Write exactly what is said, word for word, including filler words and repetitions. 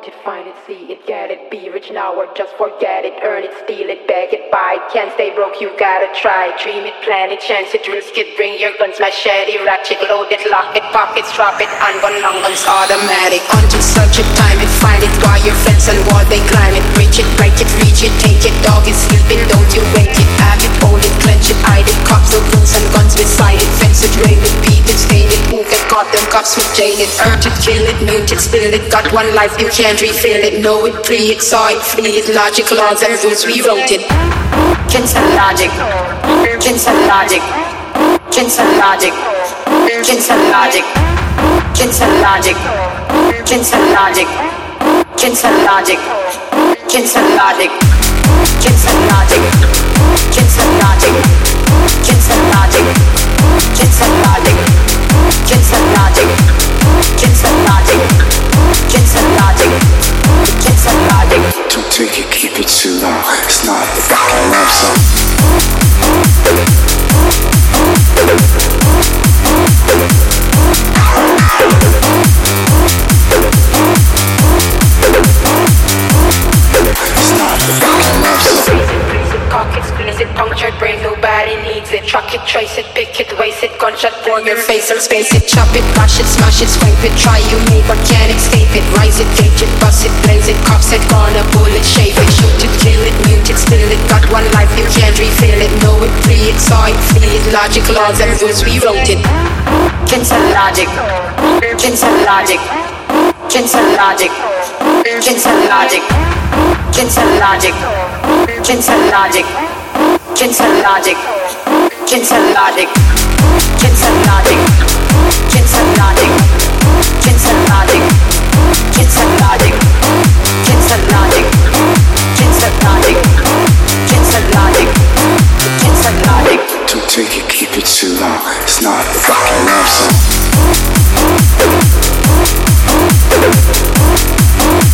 want it, find it, see it, get it, be rich now or just forget it, earn it, steal it, beg it, buy it, can't stay broke, you gotta try it, dream it, plan it, chance it, risk it, bring your guns, machete, ratchet, load it, lock it, pockets, drop it, and one long guns, automatic, onto search it, time it, find it, why your fence and wall, they climb it, reach it, break it, reach it, take it, dog is sleeping, don't you wake it, have it, hold it, clench it, hide it, cops with guns and guns beside it, fence it, rail it, beat it, stain it, who get caught, them cops with jail it, urge it, kill it, mute it, spill it, got one life, you can't refill it, know it, pre it, saw it, flee it, logic, laws and rules, we wrote it. Cancel logic, cancel logic, cancel logic, cancel logic, cancel logic, cancel logic, cancel logic, cancel logic, cancel logic, cancel logic, cancel logic, cancel logic, cancel logic, cancel logic, cancel logic, cancel logic. Don't take it, keep it too long. It's not a fucking love song. It's not a fucking love song. Cock it, squeeze it, punctured brain, nobody needs it. Truck it, trace it, pick it, waste it, gunshot for your face or space it. Chop it, crush it, smash it, scrape it, try you make but can't escape it. Rise it, gauge it, bust it, blaze it, cocks it, gonna bullet, shave it, shoot it, kill it, mute it, spill it. Got one life, you can't refill it. Know it, free it, saw it, flee it. Logic, laws and rules, we wrote it. Cancel logic, cancel logic, cancel logic, cancel logic, cancel logic, cancel logic, cancel logic, cancel logic, cancel logic, cancel logic, cancel logic, cancel logic, cancel logic, cancel logic, cancel logic, cancel logic. Don't take it, keep it too long. It's not a fucking love song.